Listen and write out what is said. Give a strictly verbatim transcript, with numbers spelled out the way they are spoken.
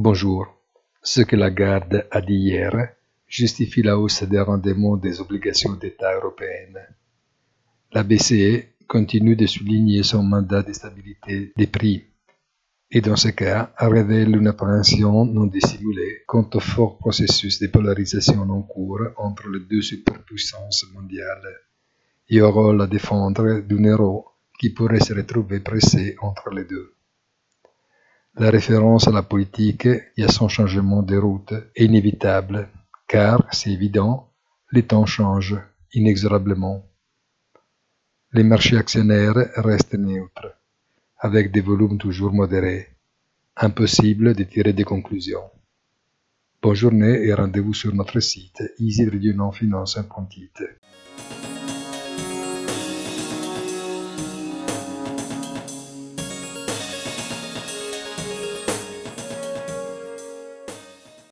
Bonjour. Ce que Lagarde a dit hier justifie la hausse des rendements des obligations d'État européennes. La B C E continue de souligner son mandat de stabilité des prix et dans ce cas révèle une appréhension non dissimulée quant au fort processus de polarisation en cours entre les deux superpuissances mondiales et au rôle à défendre d'un euro qui pourrait se retrouver pressé entre les deux. La référence à la politique et à son changement de route est inévitable, car, c'est évident, les temps changent inexorablement. Les marchés actionnaires restent neutres, avec des volumes toujours modérés. Impossible de tirer des conclusions. Bonne journée et rendez-vous sur notre site easy finance point it.